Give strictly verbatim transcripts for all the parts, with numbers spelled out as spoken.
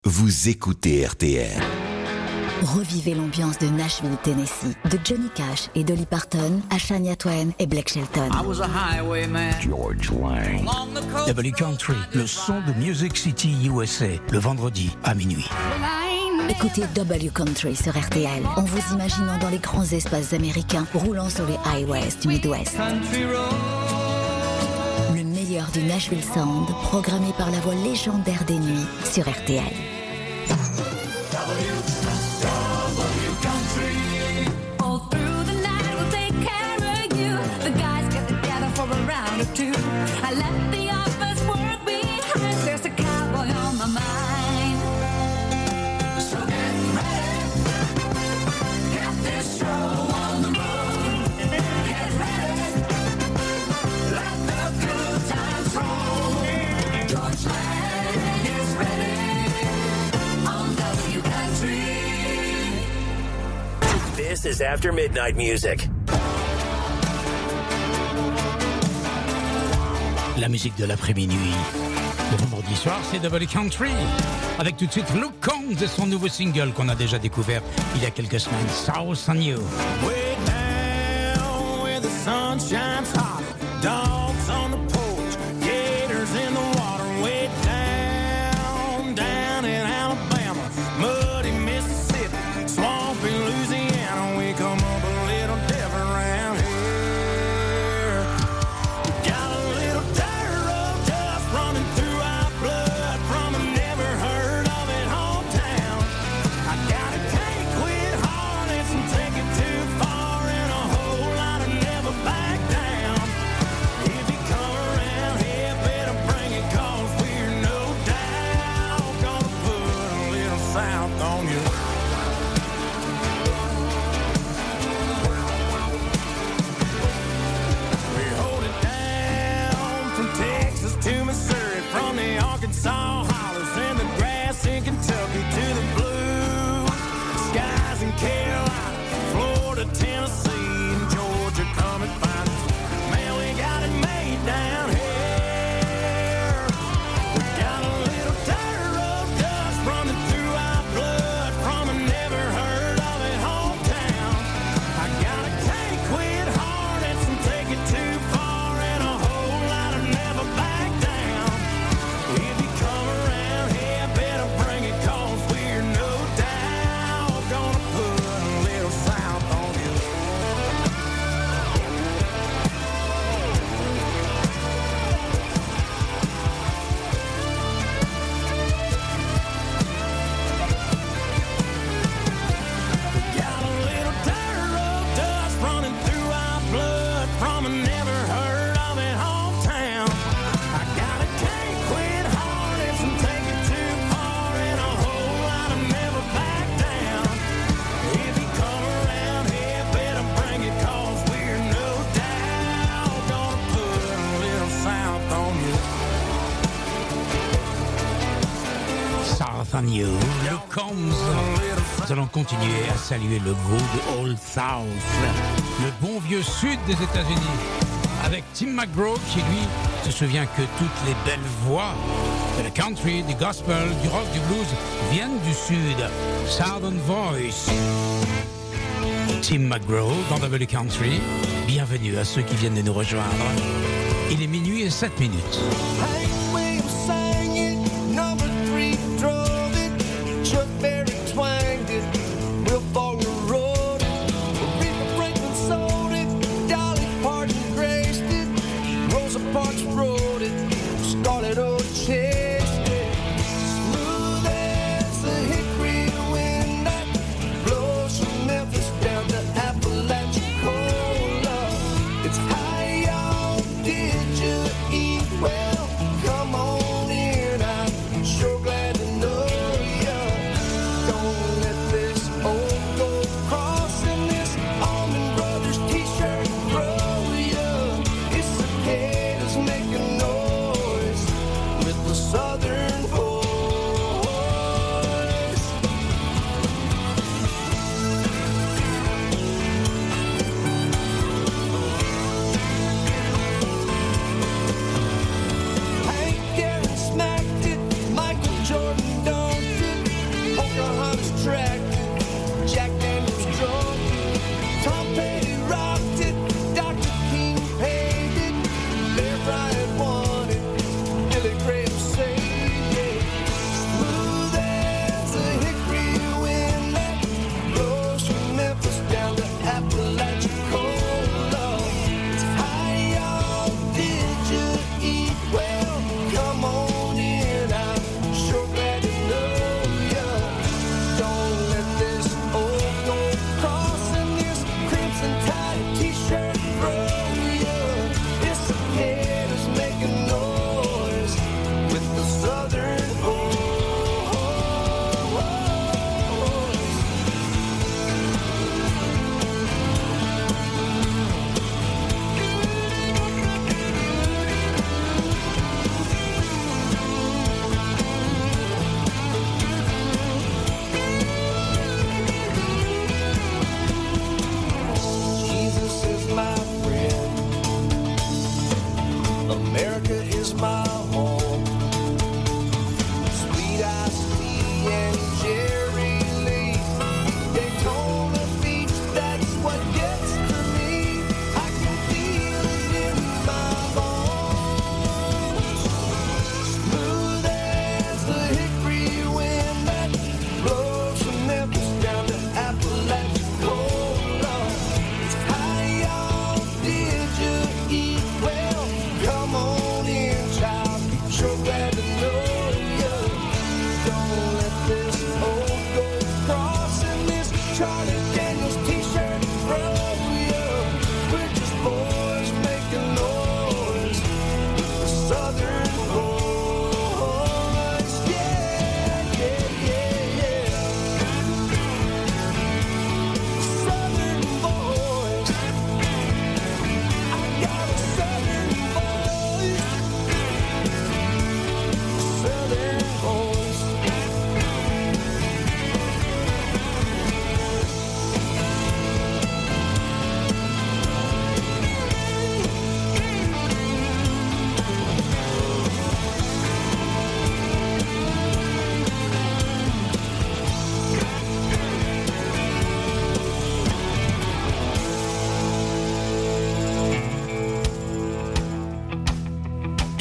Vous écoutez R T L. Revivez l'ambiance de Nashville, Tennessee, de Johnny Cash et Dolly Parton à Shania Twain et Blake Shelton. I was a highwayman. George Lang. W Country, le son de Music City U S A, le vendredi à minuit. Écoutez W Country sur R T L en vous imaginant dans les grands espaces américains roulant sur les highways du Midwest. Le meilleur du Nashville Sound, programmé par la voix légendaire des nuits sur R T L. I left the office work behind. There's a cowboy on my mind. So get ready. Get this show on the road. Get ready. Let the good times roll. George Lang is ready on W Country. This is After Midnight Music. La musique de l'après-minuit. Le vendredi soir, c'est W Country. Avec tout de suite Luke Combs et son nouveau single qu'on a déjà découvert il y a quelques semaines, South on You. Way down where the sun shines hot. Dogs on the porch, gators in the water. Way down, down in Alabama. Muddy Mississippi, swampy Louisiana. We come up a little different around here. Arkansas hollers and the grass in Kentucky to the blue skies in Carolina, Florida, Tennessee, and Georgia. Come and find us, man, we got it made down here. We got a little dirt road dust running through our blood from a never heard of it hometown. I got a can't quit Hornets and take it too far and a whole lot of never back down. If you come around here, better bring it, cause we're no doubt gonna put a little south on you. We got a little dirt road dust running through our blood from a never heard of it hometown. I got a can't quit Hornets and take it too far and a whole lot of never back down. If you come around here, better bring it, cause we're no doubt gonna put a little south on you. South on You, Luke Combs. Nous allons continuer à saluer le Good Old South, le bon vieux sud des États-Unis, avec Tim McGraw qui lui se souvient que toutes les belles voix de la country, du gospel, du rock, du blues viennent du sud. Southern Voice. Tim McGraw dans W Country. Bienvenue à ceux qui viennent de nous rejoindre. Il est minuit et sept minutes. Hank Williams sang it, number three drove it, Chuck Berry twanged it, Will Faulkner wrote it, Aretha Franklin sold it, Dolly Parton graced it, Rosa Parks wrote it, Scarlett O'Chase it. Smooth as the hickory wind that blows from Memphis down to Apalachicola. It's high on, did you eat well? Come on in.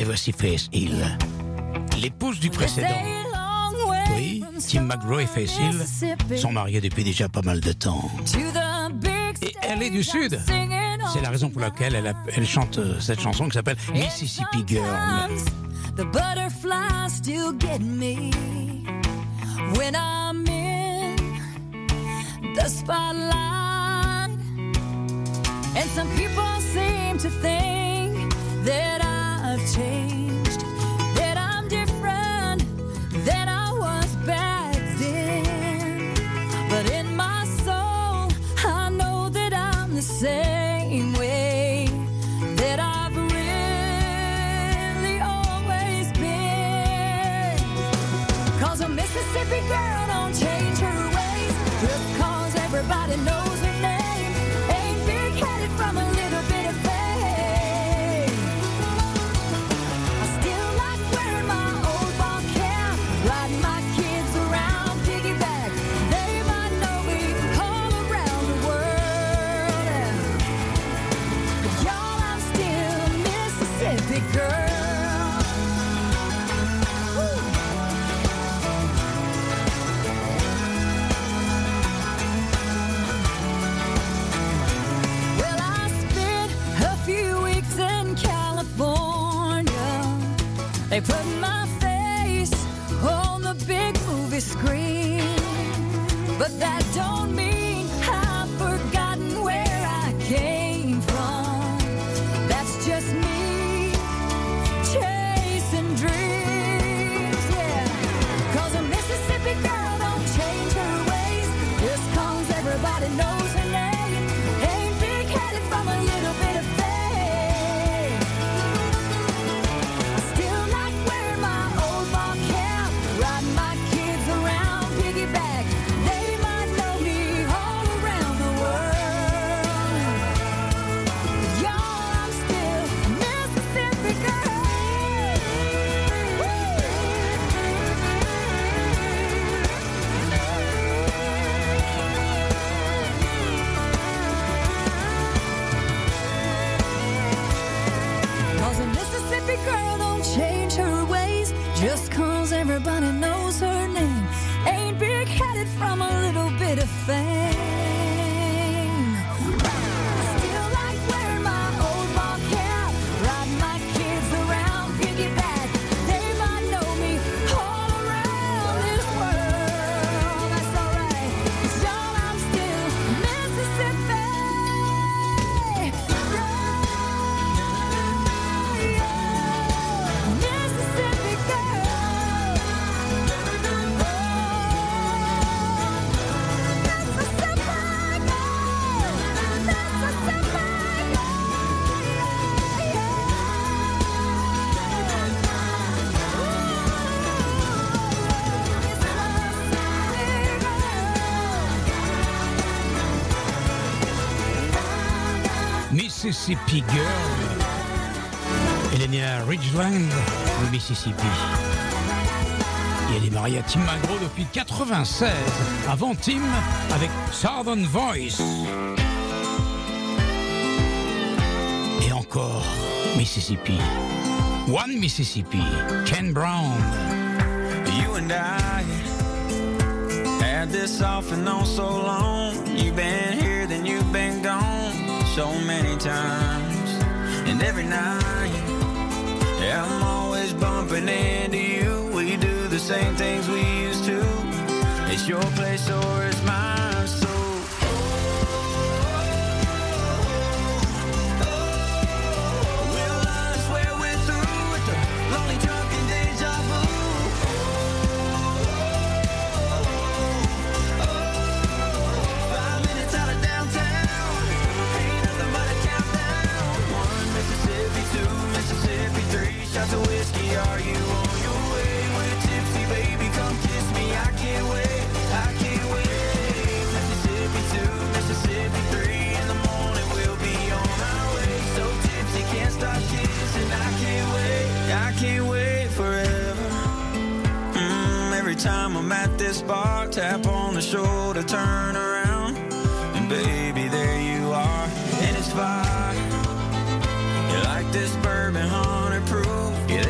voici Faith Hill, l'épouse du précédent. Oui, Tim McGraw et Faith Hill sont mariés depuis déjà pas mal de temps. Et elle est du Sud. C'est la raison pour laquelle elle, a, elle chante cette chanson qui s'appelle Mississippi Girl. The butterflies still get me when I'm in the spotlight. And some people seem to think that I've changed, that I'm different than I was back then. But in my soul, I know that I'm the same way that I've really always been. Cause a Mississippi girl don't change her ways just cause everybody knows her name. Ain't big-headed from a little bit of fame. I still like wearing my old ball cap, riding my kids around piggyback. They might know me all around the world. But y'all, I'm still a Mississippi girl. Well, I spent a few weeks in California. They put my face on the big movie screen. But that don't mean I've forgotten where I came from. That's just me chasing dreams, yeah. Cause a Mississippi girl don't change her ways just cause everybody knows her name. Ain't big-headed from a little bit of fame. I still like wearing my old ball cap, riding my kids around piggyback. They might know me all around the world. Y'all, I'm still a Mississippi girl. Cause a Mississippi girl don't change her ways just cause everybody knows her name. Ain't big-headed from a little bit of fame. I still like wearing my old ball cap, riding my kids around piggyback. They might know me all around this world. That's alright, 'cause y'all, I'm still Mississippi. Mississippi girl. Mississippi Girl. Elle est née à Ridgeland, au Mississippi. Et elle est mariée à Tim McGraw depuis quatre-vingt-seize. Avant Tim, avec Southern Voice. Et encore Mississippi. One Mississippi. Ken Brown. You and I had this off and on so long. You've been here, then you've been gone so many times. And every night, yeah, I'm always bumping into you. We do the same things we used to. It's your place or it's mine, so shots of whiskey, are you on your way? We're tipsy, baby, come kiss me. I can't wait, I can't wait. Mississippi two, Mississippi three. In the morning we'll be on our way. So tipsy, can't stop kissing. I can't wait, I can't wait forever. Mm, every time I'm at this bar, tap on the shoulder, turn around, and baby, there you are, and it's fine. You like this bourbon, hundred proof. Yeah,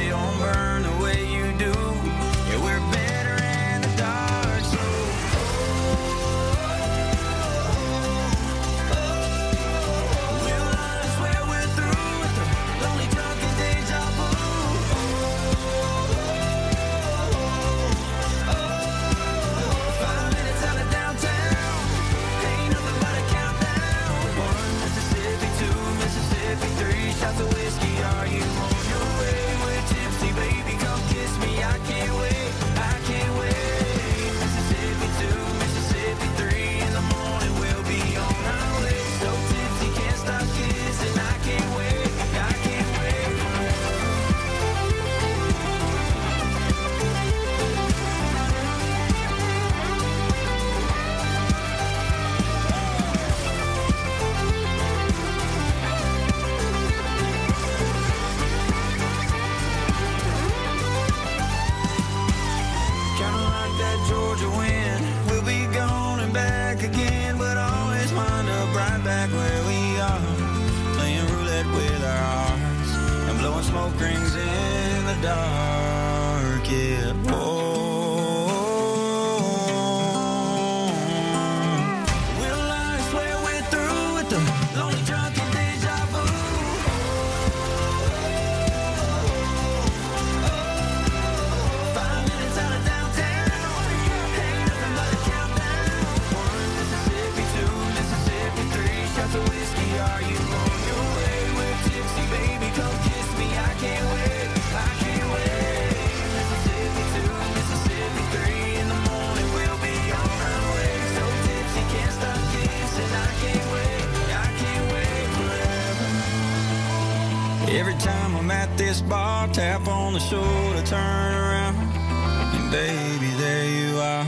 time I'm at this bar, tap on the shoulder, turn around, and baby, there you are.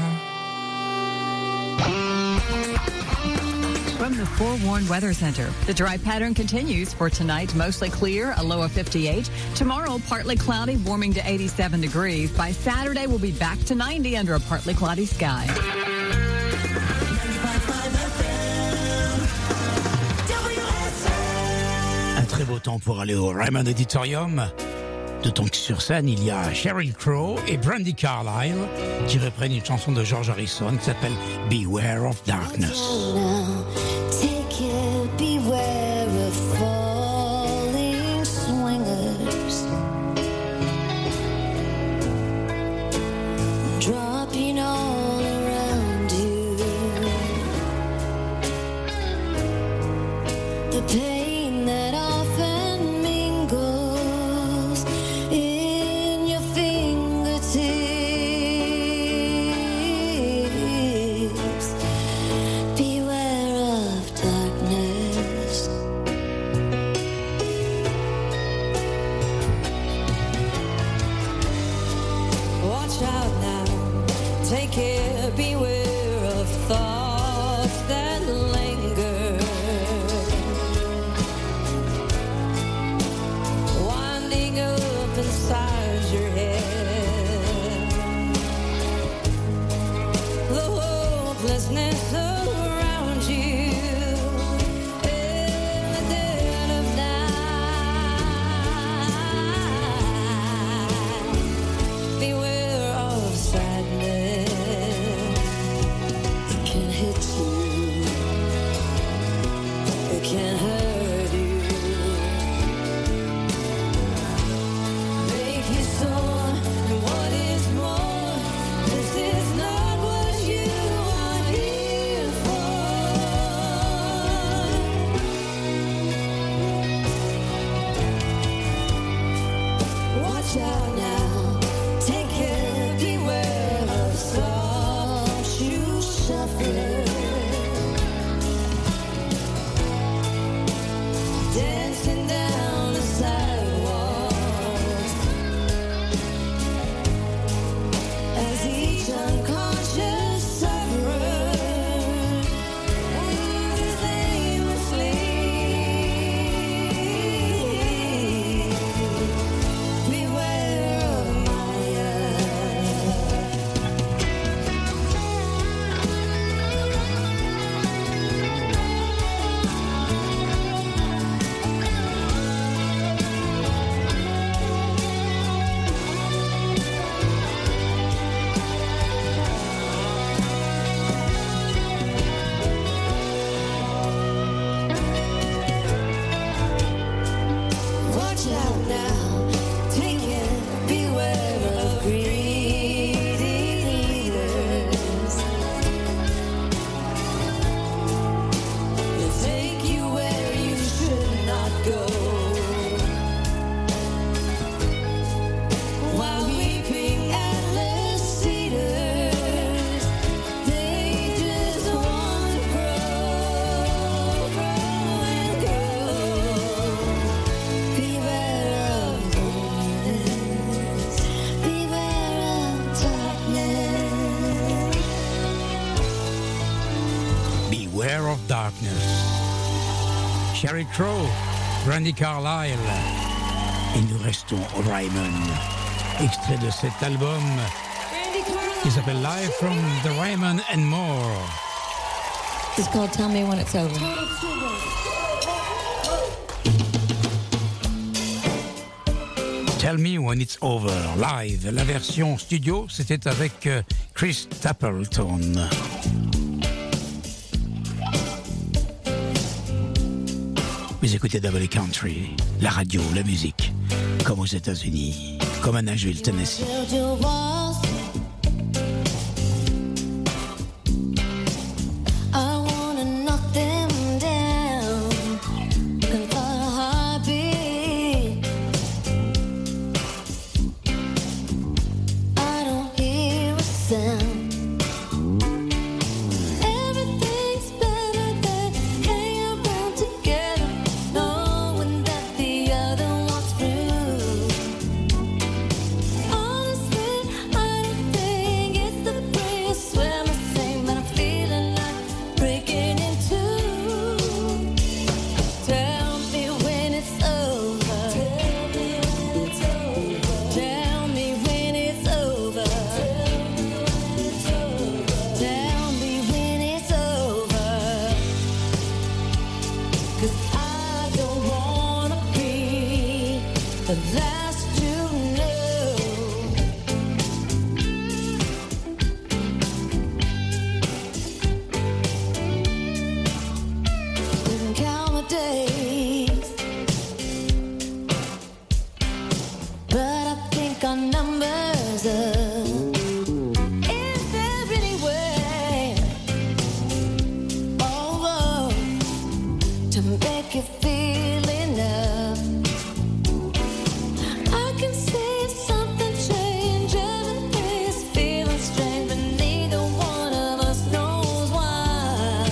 From the Forewarned Weather Center, the dry pattern continues for tonight. Mostly clear, a low of fifty-eight. Tomorrow, partly cloudy, warming to eighty-seven degrees. By Saturday, we'll be back to ninety under a partly cloudy sky. Un très beau temps pour aller au Ryman Auditorium. D'autant que sur scène, il y a Sheryl Crow et Brandi Carlile qui reprennent une chanson de George Harrison qui s'appelle Beware of Darkness. Take it, beware of falling swingers, dropping all around you. The pain that often mingles in your fingertips. Beware of darkness. Watch out now, take care, beware of thoughts that linger, winding up inside your head. The hopelessness around you in the dead of night. Beware of sadness. It can hit you. It can hurt you. Make you sore. And what is more, this is not what you are here for. Watch out now. Take care, beware of soft shoe shuffler, dancing down the sidewalks as each unconscious sufferer moves aimlessly. Beware of Maya. Watch out now, take it, beware of greedy leaders. They'll take you where you should not go, while weeping atlas cedars, they just want to grow, grow and grow. Beware of darkness. Beware of darkness. Beware of Darkness. Sheryl Crow, Brandi Carlile. Et nous restons au Ryman. Extrait de cet album qui s'appelle Live from the Ryman and More. It's called Tell Me When It's Over. Tell Me When It's Over, live. La version studio, c'était avec euh, Chris Stapleton. Vous écoutez Double Country, la radio, la musique, comme aux États-Unis, comme à Nashville, Tennessee. Build your walls. I wanna knock them down. And for a heartbeat, I don't hear a sound. Everything's better than hanging around together, knowing that the other one's free. the last to know. Didn't count the days, but I think our numbers up. Is there any way, oh, to make you feel enough? I can see something change, every day is feeling strange, but neither one of us knows why.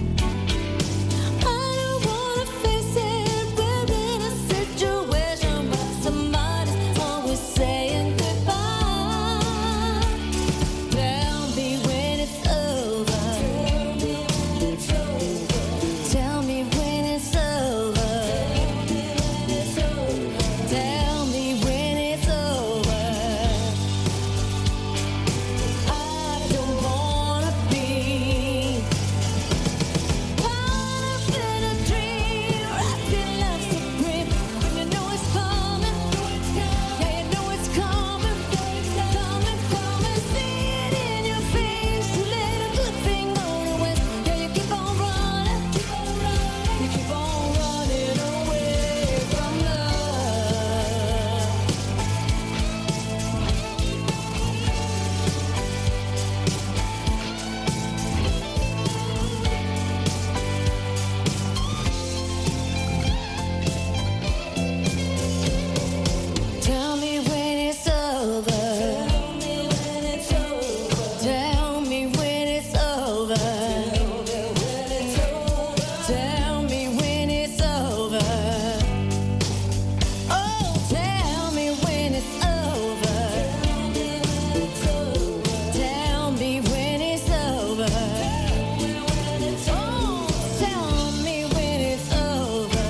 I don't wanna face it, we're in a situation where somebody's always saying goodbye. Tell me when it's over. Tell me when it's over. Tell me when it's over. I don't wanna be caught up in a dream, wrapped in love supreme. And you know it's coming, yeah, you know it's coming, coming, coming. See it in your face, you let a good thing go to waste. Yeah, you keep on running, you keep on running away from love. Tell me when it's over. Tell me when it's over. Tell me when it's over. Oh, tell me when it's over. Tell me when it's over. Oh, tell me when it's over.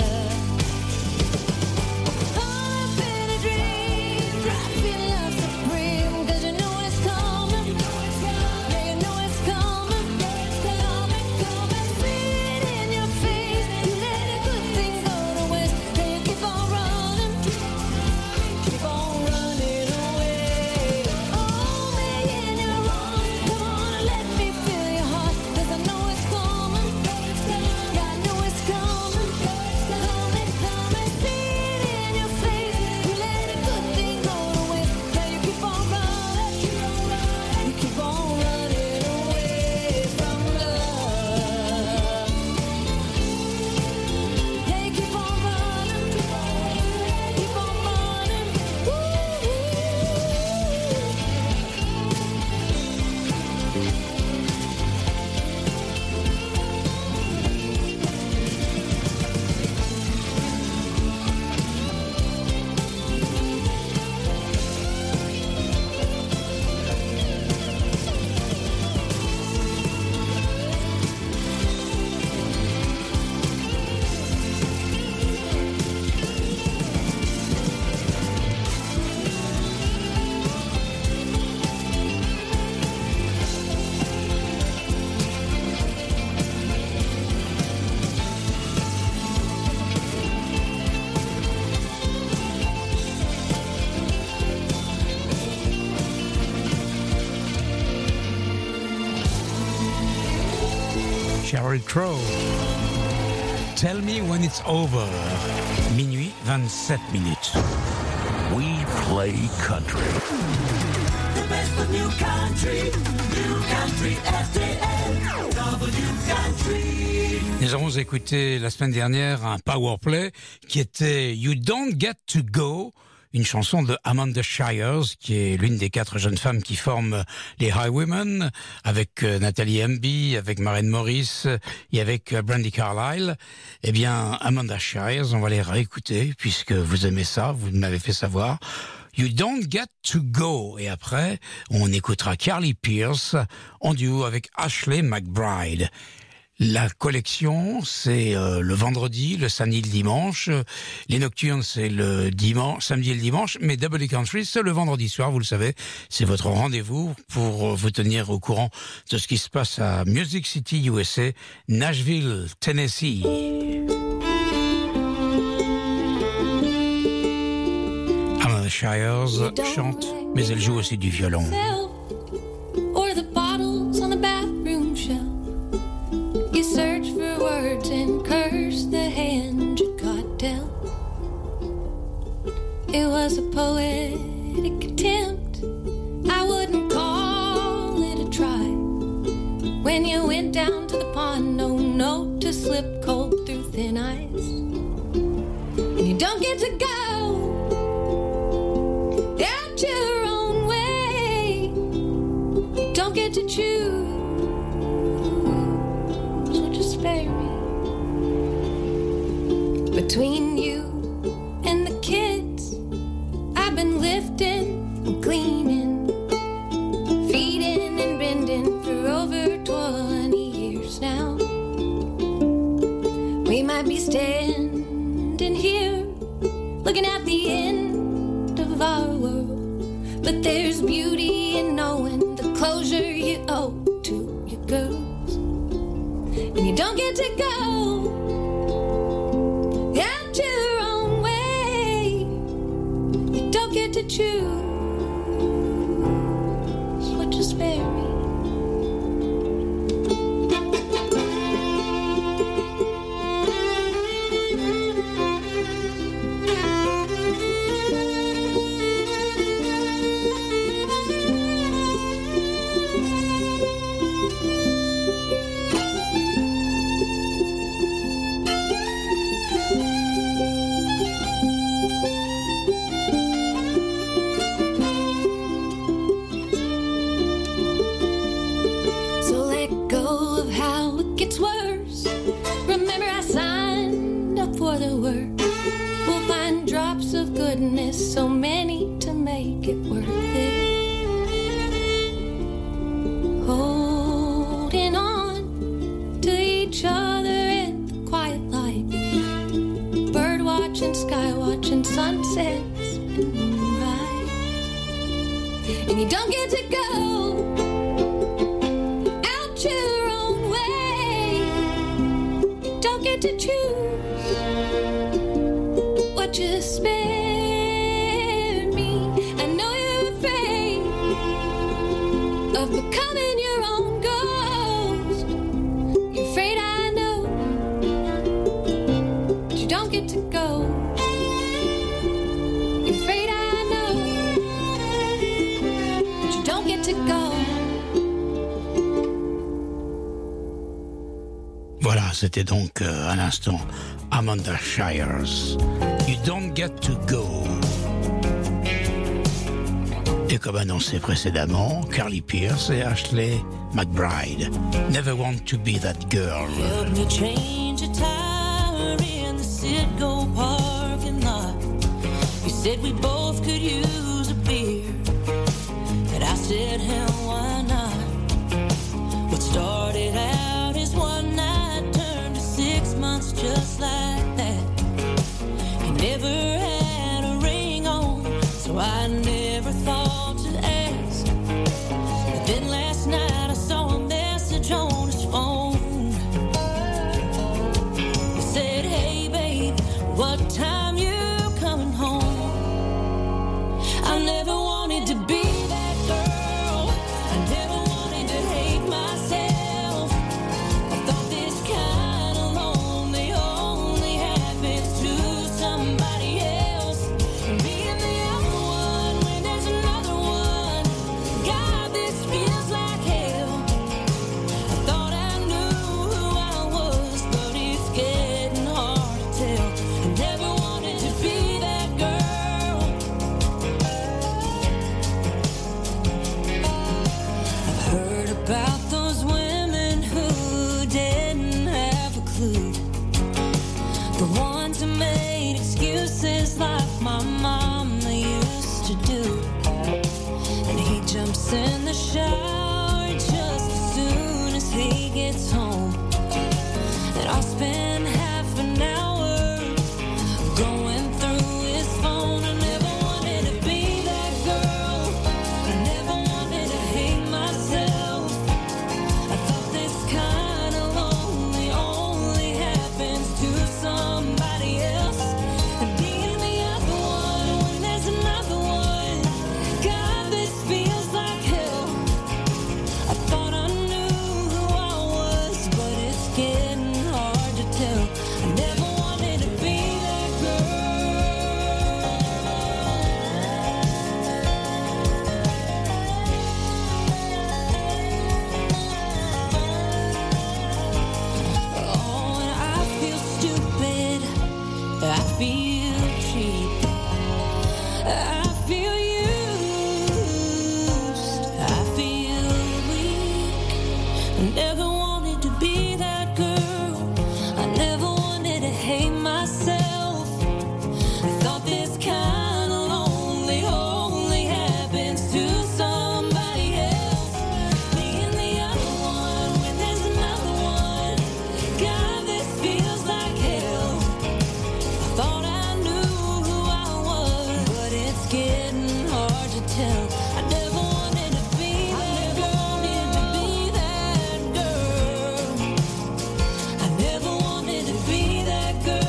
Caught up in a dream, wrapped in love supreme. 'Cause you know it's coming, yeah, you know it's coming, coming, coming. See it in your face, you let a good thing go to waste. Then you keep on running, keep on running away. Hold me in your arms, come on and let me feel your heart. 'Cause I know it's coming, yeah, I know it's coming, coming, coming. See it in your face, you let a good thing go to waste. Yeah, you keep on running, you keep on running away from love. Yeah, you keep on running, keep on running. Sheryl Crow. Tell me when it's over. Minuit vingt-sept minutes. We play country. The best of new country, new country R T L, W Country. Nous avons écouté la semaine dernière un power play qui était You Don't Get to Go, une chanson de Amanda Shires, qui est l'une des quatre jeunes femmes qui forment les Highwomen, avec euh, Nathalie Emby, avec Maren Morris et avec euh, Brandi Carlile. Eh bien, Amanda Shires, on va les réécouter, puisque vous aimez ça, vous m'avez fait savoir. You Don't Get to Go. Et après, on écoutera Carly Pearce en duo avec Ashley McBride. La collection, c'est euh, le vendredi, le samedi, le dimanche. Les nocturnes, c'est le dimanche, samedi et le dimanche. Mais W Country, c'est le vendredi soir, vous le savez. C'est votre rendez-vous pour vous tenir au courant de ce qui se passe à Music City, U S A, Nashville, Tennessee. Shires chante, mais elle joue aussi du violon. Or the bottles on the bathroom shelf. You search for words and curse the hand you got dealt. It was a poetic attempt. I wouldn't call it a try. When you went down to the pond, no note to slip cold through thin ice. And you don't get to go out your own way. You don't get to choose. So just spare me. Between you and the kids, I've been lifting and cleaning, feeding and bending for over twenty years now. We might be standing here looking at the end of our world, but there's beauty in knowing the closure you owe to your girls. And you don't get to go out your own way. You don't get to choose. Would you spare me? So let go of how it gets worse. Remember I signed up for the work. We'll find drops of goodness, so many to make it worth it. Holding on to each other in the quiet light. Bird watching, sky watching, sunsets and moonrise. And you don't get to go out your own way. You don't get to choose what you spare me. I know you're afraid of becoming your own ghost. You're afraid I know, but you don't get to go. You're afraid I know, but you don't get to go. Voilà, c'était donc euh, à l'instant Amanda Shires. You don't get to go. Et comme annoncé précédemment, Carly Pearce et Ashley McBride. Never want to be that girl. Help me change a tire in the Citgo parking lot. You said we both could use a beer, and I said, hell, why not? What started out as one night turned to six months just like that. He never had a ring on, so I never thought to ask. But then last night I saw a message on his phone. He said, hey babe, what time you coming home? I never wanted to be that girl. I never wanted to hate myself. I thought this kind of lonely only happens to somebody else. Being the other one when there's another one. God, this feels like hell. I thought I knew who I was, but it's getting hard to tell. I never wanted to be that girl. I've heard about those women who didn't have a clue. The ones who made excuses like my mama used to do. And he jumps in the shower just as soon as he gets home. And I'll spend half an hour going through his phone. I never wanted to be that girl. I never wanted to hate myself. I thought this kind of lonely only happens to somebody else. And being the other one when there's another one. I never wanted to be that girl. I never wanted to hate myself. I thought this kind of lonely only happens to somebody else. Being the other one when there's another one. God, this feels like hell. I thought I knew who I was, but it's getting hard to tell. I never wanted to be that girl. Wanted to be that girl. I never wanted to be that girl.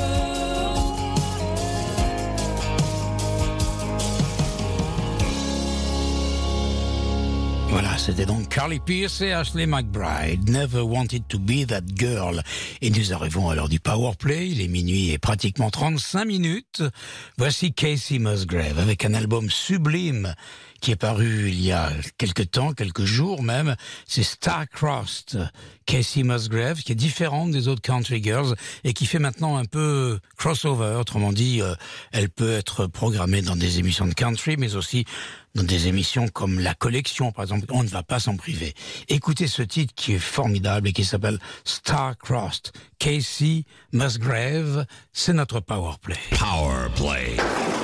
Voilà, c'était donc Carly Pearce et Ashley McBryde. Never wanted to be that girl. Et nous arrivons à l'heure du Powerplay. Il est minuit et pratiquement trente-cinq minutes. Voici Kacey Musgrave avec un album sublime qui est paru il y a quelques temps, quelques jours même. C'est Star-Crossed. Kacey Musgrave, qui est différente des autres country girls et qui fait maintenant un peu crossover. Autrement dit, euh, elle peut être programmée dans des émissions de country, mais aussi dans des émissions comme La Collection, par exemple. On ne va pas s'en priver. Écoutez ce titre qui est formidable et qui s'appelle Star-Crossed. Kacey Musgrave, c'est notre Powerplay. Powerplay.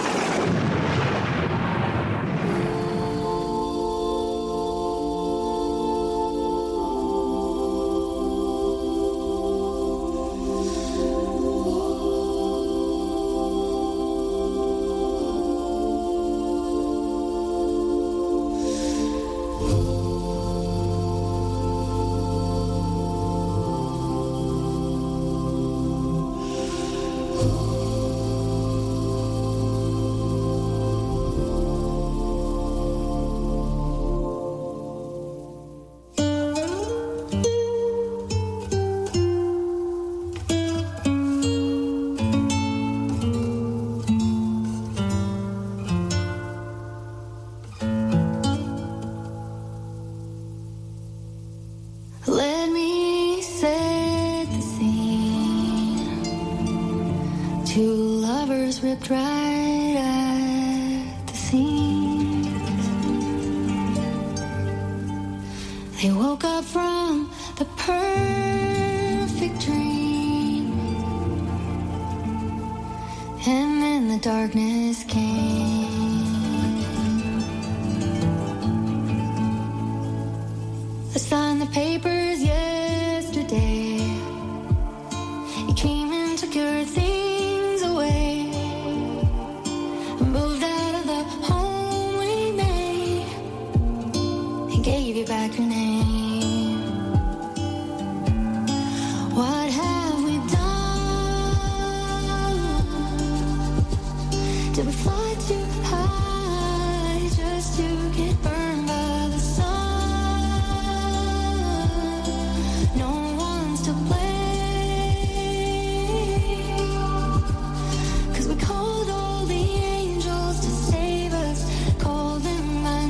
Let me set the scene. Two lovers ripped right at the seams. They woke up from the perfect dream, and then the darkness came. I signed the papers yesterday. You came and took your things away. I moved out of the home we made and gave you back your name. What have we done? Did we fly too high just to get burned by the sun? No one's to blame, 'cause we called all the angels to save us, called them by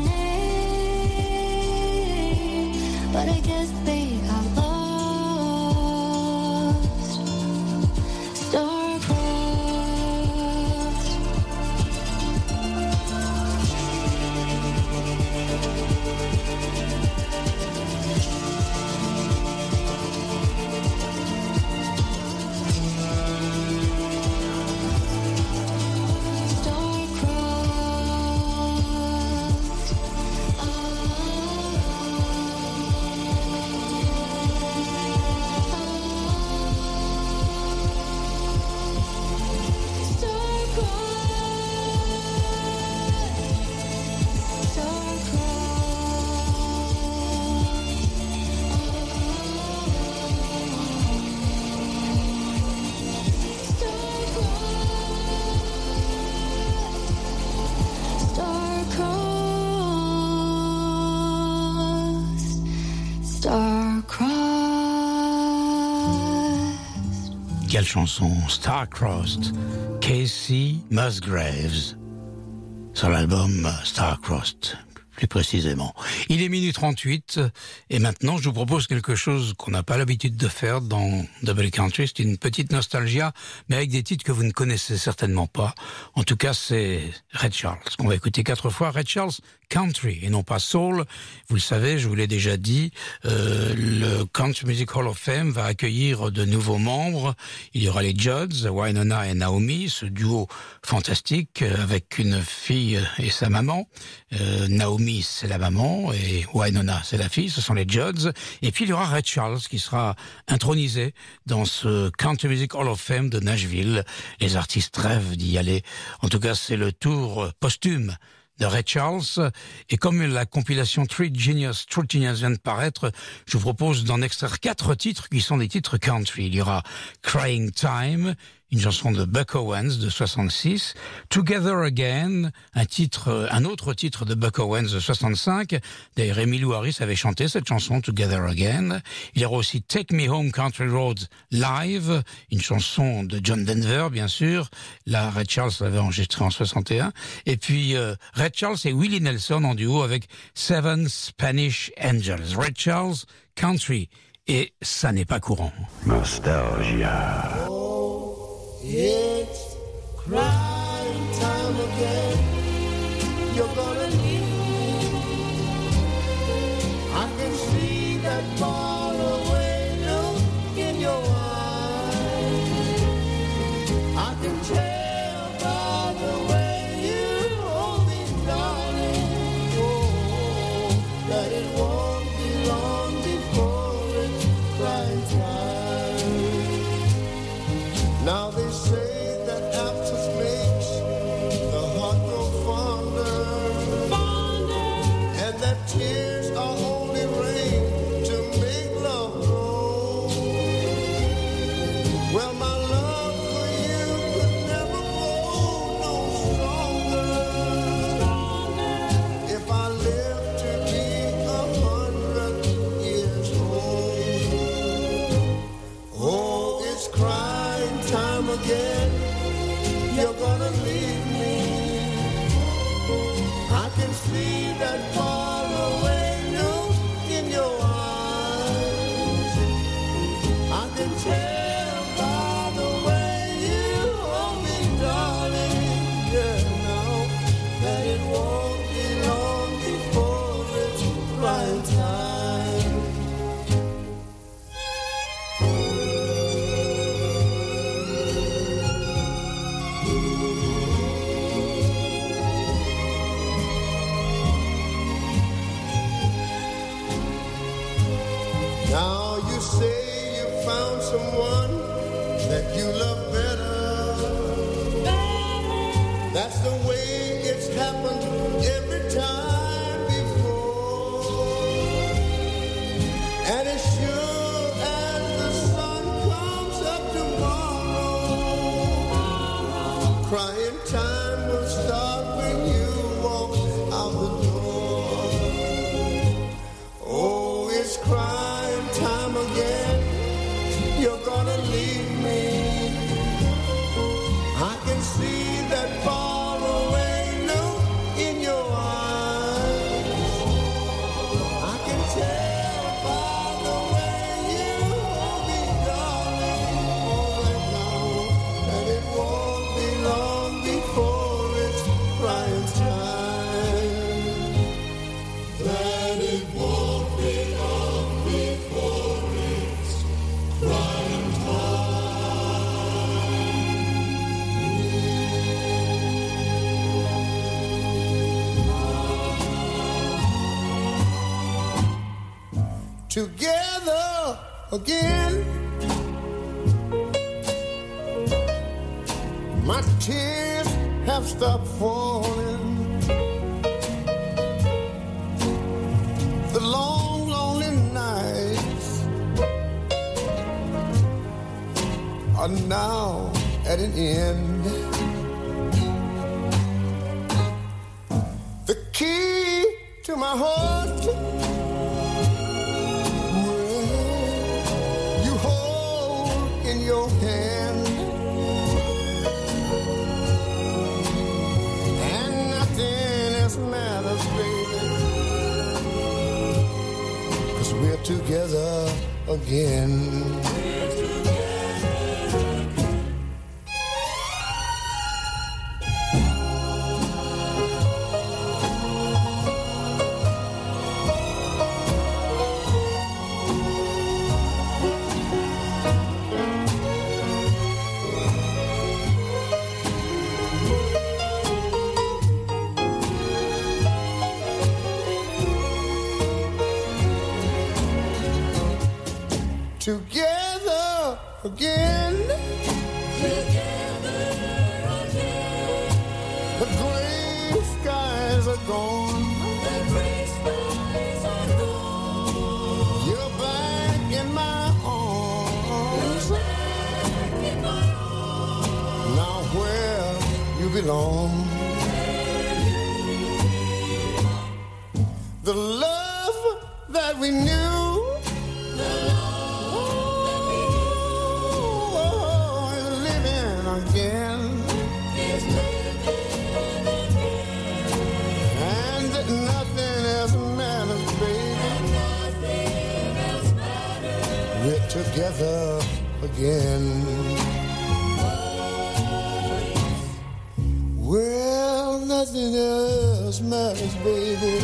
name, but I guess they got lost. Star-crossed. Star-crossed. Star-crossed. Quelle chanson, Star-Crossed, Kacey Musgraves, sur l'album Star-Crossed. plus précisément. Il est minuit trente-huit et maintenant je vous propose quelque chose qu'on n'a pas l'habitude de faire dans Double Country. C'est une petite nostalgia, mais avec des titres que vous ne connaissez certainement pas. En tout cas, c'est Ray Charles qu'on va écouter quatre fois. Ray Charles Country et non pas Soul. Vous le savez, je vous l'ai déjà dit, euh, le Country Music Hall of Fame va accueillir de nouveaux membres. Il y aura les Judds, Wynonna et Naomi, ce duo fantastique avec une fille et sa maman. Euh, Naomi, c'est la maman, et Wynonna, c'est la fille, ce sont les Judds. Et puis il y aura Ray Charles qui sera intronisé dans ce Country Music Hall of Fame de Nashville. Les artistes rêvent d'y aller. En tout cas, c'est le tour posthume de Ray Charles. Et comme la compilation True Genius, True Genius vient de paraître, je vous propose d'en extraire quatre titres qui sont des titres country. Il y aura Crying Time, une chanson de Buck Owens de soixante-six, Together Again, un titre, un autre titre de Buck Owens de soixante-cinq. D'ailleurs, Emmylou Harris avait chanté cette chanson Together Again. Il y aura aussi Take Me Home Country Roads Live, une chanson de John Denver, bien sûr. Là, Ray Charles l'avait enregistré en soixante et un. Et puis euh, Ray Charles et Willie Nelson en duo avec Seven Spanish Angels. Ray Charles Country, et ça n'est pas courant. Nostalgia. It's crying time again. You're gonna need me. I can see that far away look in your eyes. I can tell by the way you hold me, darling, oh, that it won't be long before it's crying time. Now they say that absence makes the heart grow fonder, fonder, and that tears are only rain to make love grow. Well, my love for you could never grow no stronger, stronger if I lived to be a hundred years old. Oh, it's crying time again. You're gonna leave me. I can see that far away look in your eyes. I can tell by the way you hold me, darling, yeah, now that it won't be long before it's crying time. Now you say you found someone that you love better. better. That's the way it's happened every time before. And as sure as the sun comes up tomorrow, crying time will start when you walk out the door. Oh, it's crying time again. You're gonna leave me. I can see that far away look in your eyes. I can tell by the way you hold me, darling, right now, that it won't be long before it's crying time. That it won't be long before it's crying time. Together again, my tears have stopped falling. The long, lonely nights are now at an end. The key to my heart, well, you hold in your hand, and nothing else matters, baby. together again. Together again. Together again. The gray skies are gone. The gray skies are gone. You're back in my arms. You're back in my arms. Now where you belong. The love that we knew. Again. And nothing else matters, baby. We're together again. Well, nothing else matters, baby.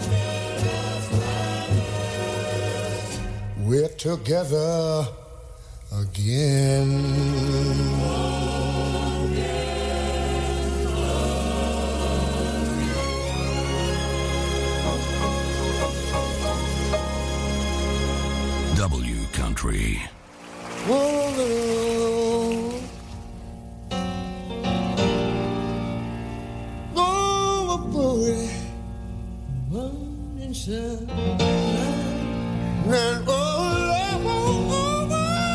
We're together again. W Country. Whoa, oh, boy, morning sun, and oh, oh,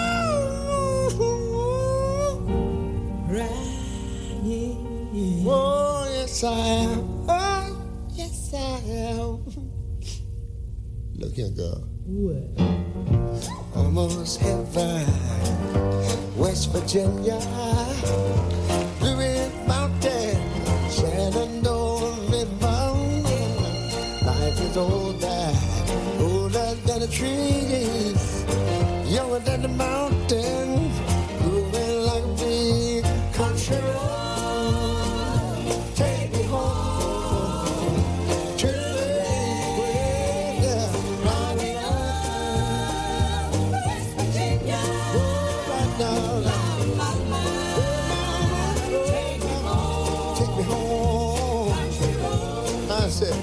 oh, oh, right, oh, yes I am, oh, yes I am. Look here, girl. What? Almost heaven, West Virginia, Blue Ridge Mountain, Shenandoah River. Life is older, older than the trees, younger than the mountain, moving like a big country road. Take me home to the place where I belong. West Virginia, oh, right now, take me home, take me home. I said,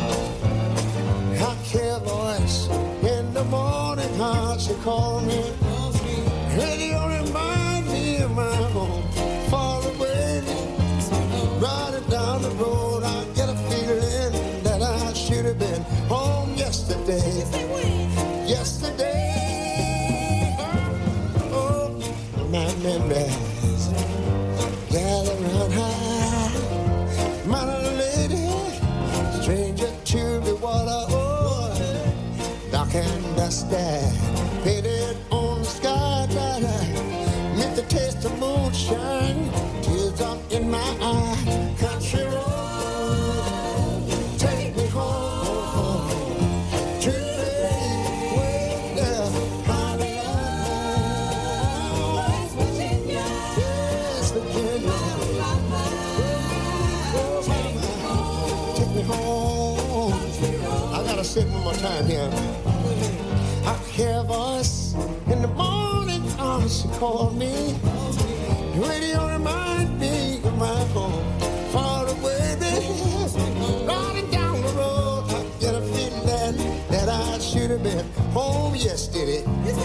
I hear a voice in the morning, how she called me. Radio remind me of my home, far away. Riding down the road, I get a feeling that I should have been home yesterday. Yesterday, oh, my memories gather round high. My little lady, stranger to the water, oh, dark and dusty, painted on the sky, that I meant to taste the moonshine, tears up in my eye. Country road, take me home to the place where I belong. West Virginia, West Virginia, oh, take me home. I gotta say it one more time here. I hear a voice in the morning, oh, she called me. The radio remind me of my home, far away, baby. Riding down the road, I get a feeling that I should have been home yesterday.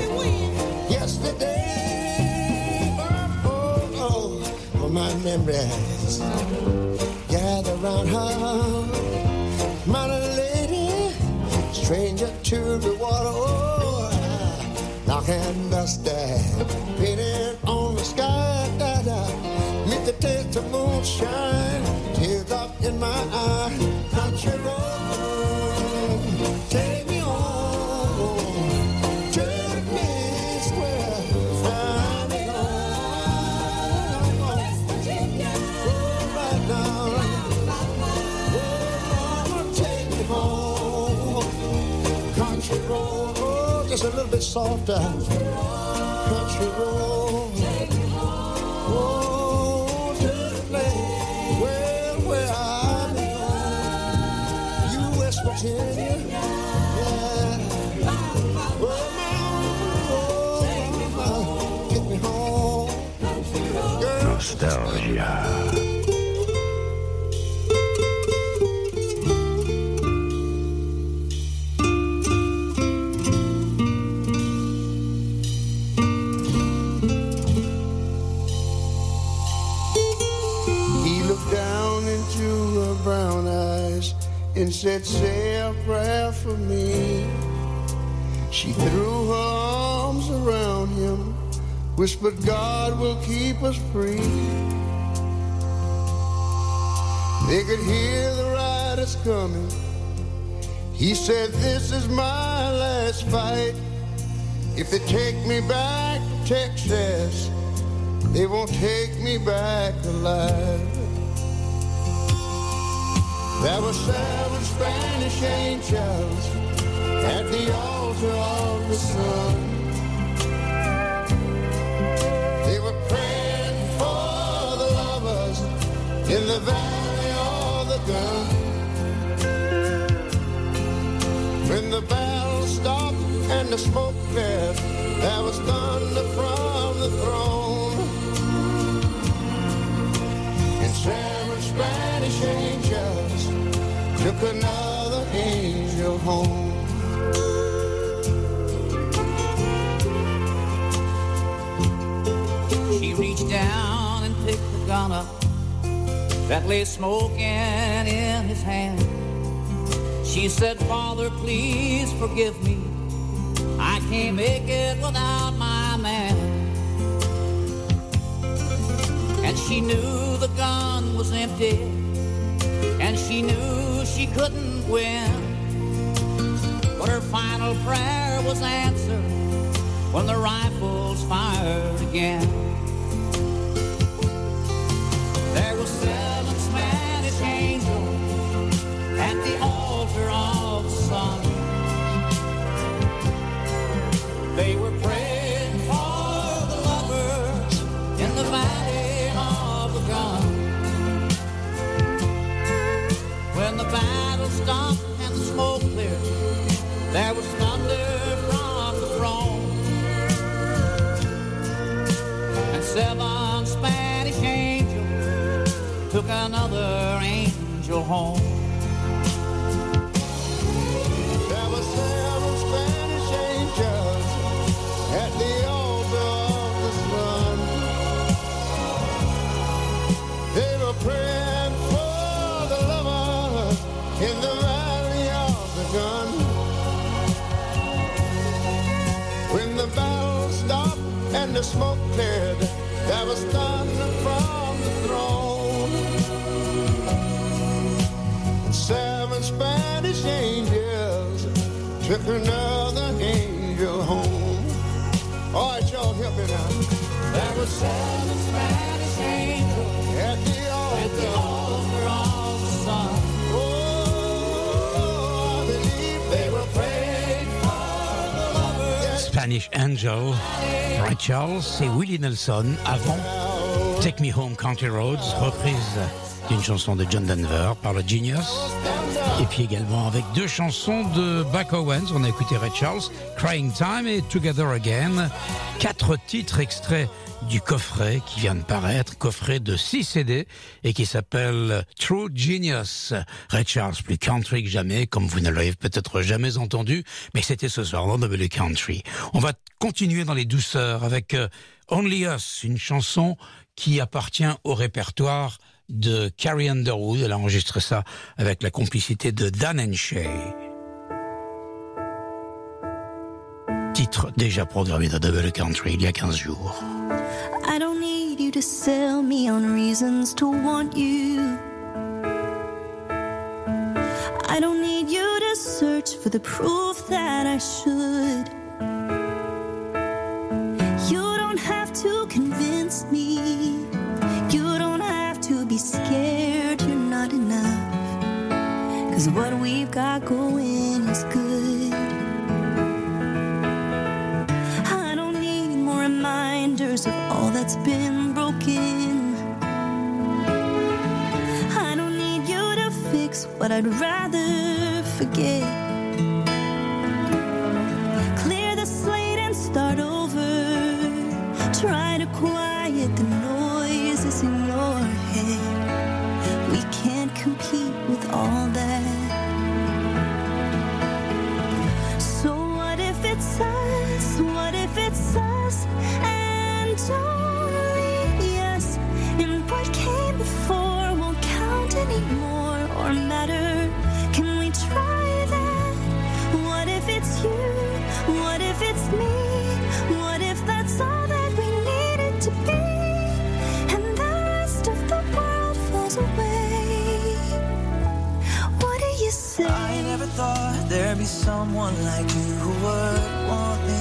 Yesterday, oh, oh, oh, my memories gather round her. My little lady, stranger to the water, oh, dark and dusty, painted on the sky, that I meet the taste of moonshine, tears up in my eye. Country road, take me home to the place where I belong. West Virginia, oh, right now, oh, take me home. Country road, oh, just a little bit softer. Country road. Oh, to the place where, where I belong. You West Virginia. Yeah. Oh, mama, get me home. Girl. Nostalgia. Brown eyes and said, say a prayer for me. She threw her arms around him, whispered, God will keep us free. They could hear the riders coming. He said, this is my last fight. If they take me back to Texas, they won't take me back alive. There were seven Spanish angels at the altar of the sun. They were praying for the lovers in the valley of the gun. When the battle stopped and the smoke cleared, there was thunder from the throne. And seven Spanish angels took another angel home. She reached down and picked the gun up that lay smoking in his hand. She said, Father, please forgive me. I can't make it without my man. And she knew the gun was empty, and she knew she couldn't win. But her final prayer was answered when the rifles fired again. There were seven Spanish angels at the altar of the sun. They were praying for the lovers in the valley of the gun. When the battle stopped and the smoke cleared, there was thunder from the throne. And seven Spanish angels took another angel home. There were seven Spanish angels at the altar of the sun. They were praying for the lovers in the valley of the gun. When the battle stopped and the smoke cleared, there was thunder from the throne. And seven Spanish angels took another angel home. All right, y'all, help me now. There were seven Spanish angels at the altar, at the altar of the sun. Oh, I believe they were praying for the lovers. Spanish Angel, Ray Charles et Willie Nelson avant Take Me Home Country Roads, reprise d'une chanson de John Denver par le Genius. Et puis également avec deux chansons de Buck Owens. On a écouté Ray Charles, Crying Time et Together Again. Quatre titres extraits du coffret qui vient de paraître, coffret de six C D et qui s'appelle True Genius. Ray Charles, plus country que jamais, comme vous ne l'avez peut-être jamais entendu, mais c'était ce soir dans W Country. On va continuer dans les douceurs avec Only Us, une chanson qui appartient au répertoire de Carrie Underwood. Elle a enregistré ça avec la complicité de Dan and Shay. Titre déjà programmé dans W Country il y a quinze jours. I don't need you to sell me on reasons to want you. I don't need you to search for the proof that I should. You don't have to convince me. You don't have to be scared you're not enough. 'Cause what we've got going is good. that's been broken. I don't need you to fix what I'd rather forget. Clear the slate and start over. Try to quiet the noises in your head. We can't compete with all that. So what if it's us? What if it's us and only us? And what came before won't count anymore or matter. Can we try that? What if it's you? What if it's me? What if that's all that we needed to be? And the rest of the world falls away. What do you say? I never thought there'd be someone like you who would want me.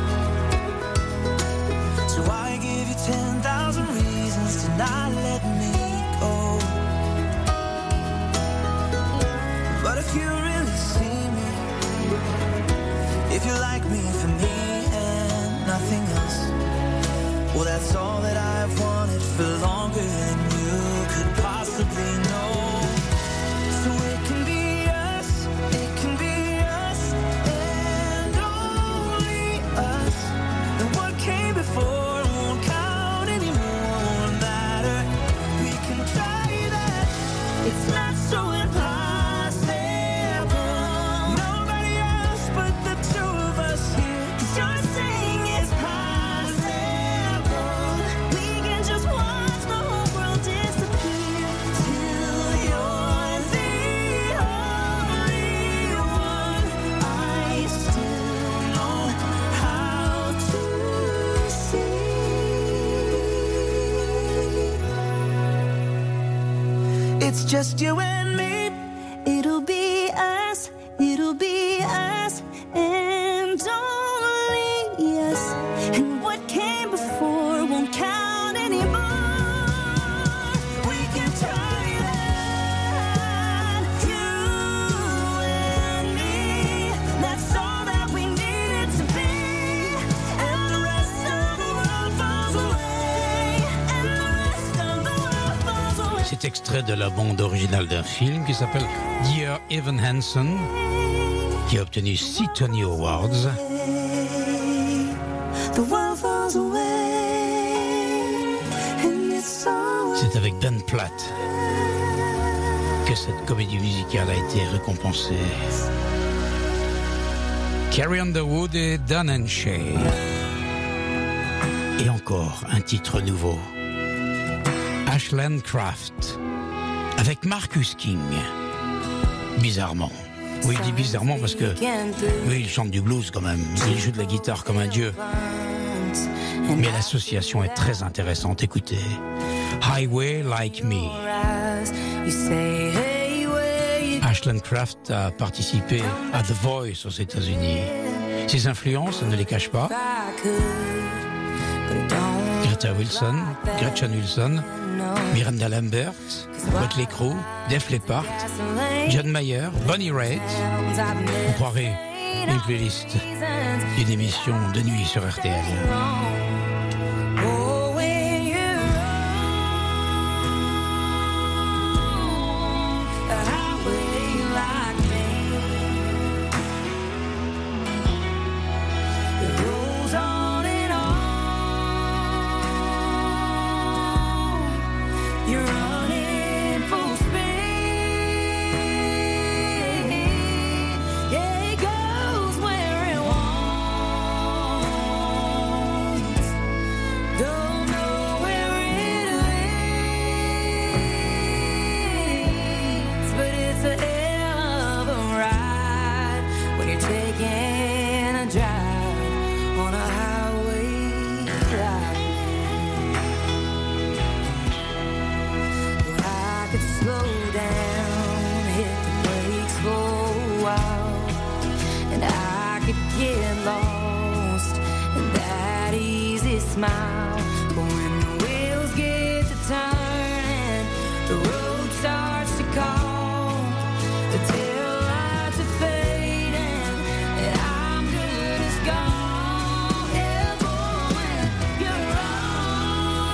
So I give you ten thousand reasons to not let me go. But if you really see me, if you like me for me and nothing else, well, that's all that I've wanted for longer than you could possibly know. So it can be us, it can be us, and only us. And what came before won't count anymore, won't matter. We can try that, it's not so impossible. Nobody else but the two of us here. 'Cause you're saying it's possible. We can just watch the whole world disappear till you're the only one I still know how to see. It's just you and me. It'll be us, it'll be us, and only us. And what came before won't count anymore. We can try that, you and me. That's all that we needed to be. And the rest of the world falls away. And the rest of the world falls away. C'est extrait de la bande originale d'un film qui s'appelle Dear Evan Hansen, qui a obtenu six Tony Awards. The world falls away. And it's all C'est avec Ben Platt que cette comédie musicale a été récompensée. Carrie Underwood et Dan Shay. Et encore un titre nouveau. Ashland Craft avec Marcus King. Bizarrement. Oui, il dit bizarrement parce que oui, il chante du blues quand même. Il joue de la guitare comme un dieu. Mais l'association est très intéressante. Écoutez, Highway Like Me. Ashland Craft a participé à The Voice aux États-Unis. Ses influences, elle ne les cache pas. Greta Wilson, Gretchen Wilson, Miranda Lambert, Mötley Crüe, Def Leppard, John Mayer, Bonnie Raitt. On croirait une playlist d'une émission de nuit sur R T L. Smile, but when the wheels get to turning, the road starts to call. The tail lights are fading, and I'm good as gone. Yeah, boy, when you're on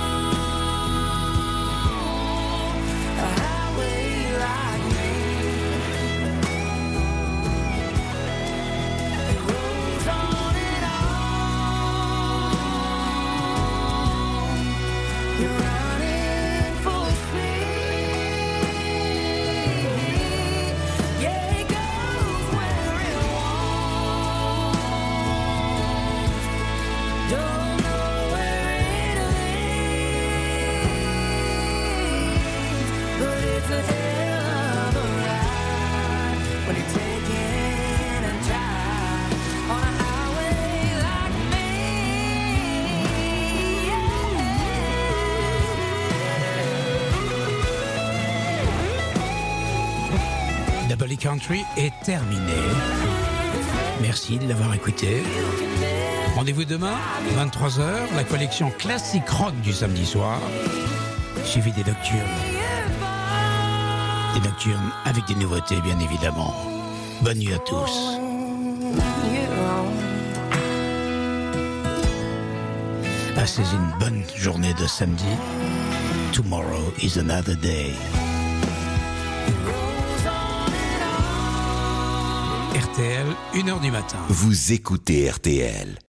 Country est terminé. Merci de l'avoir écouté. Rendez-vous demain, vingt-trois heures, la collection classique rock du samedi soir, suivi des nocturnes. Des nocturnes avec des nouveautés, bien évidemment. Bonne nuit à tous. Passez une bonne journée de samedi. Tomorrow is another day. R T L, une heure du matin. Vous écoutez R T L.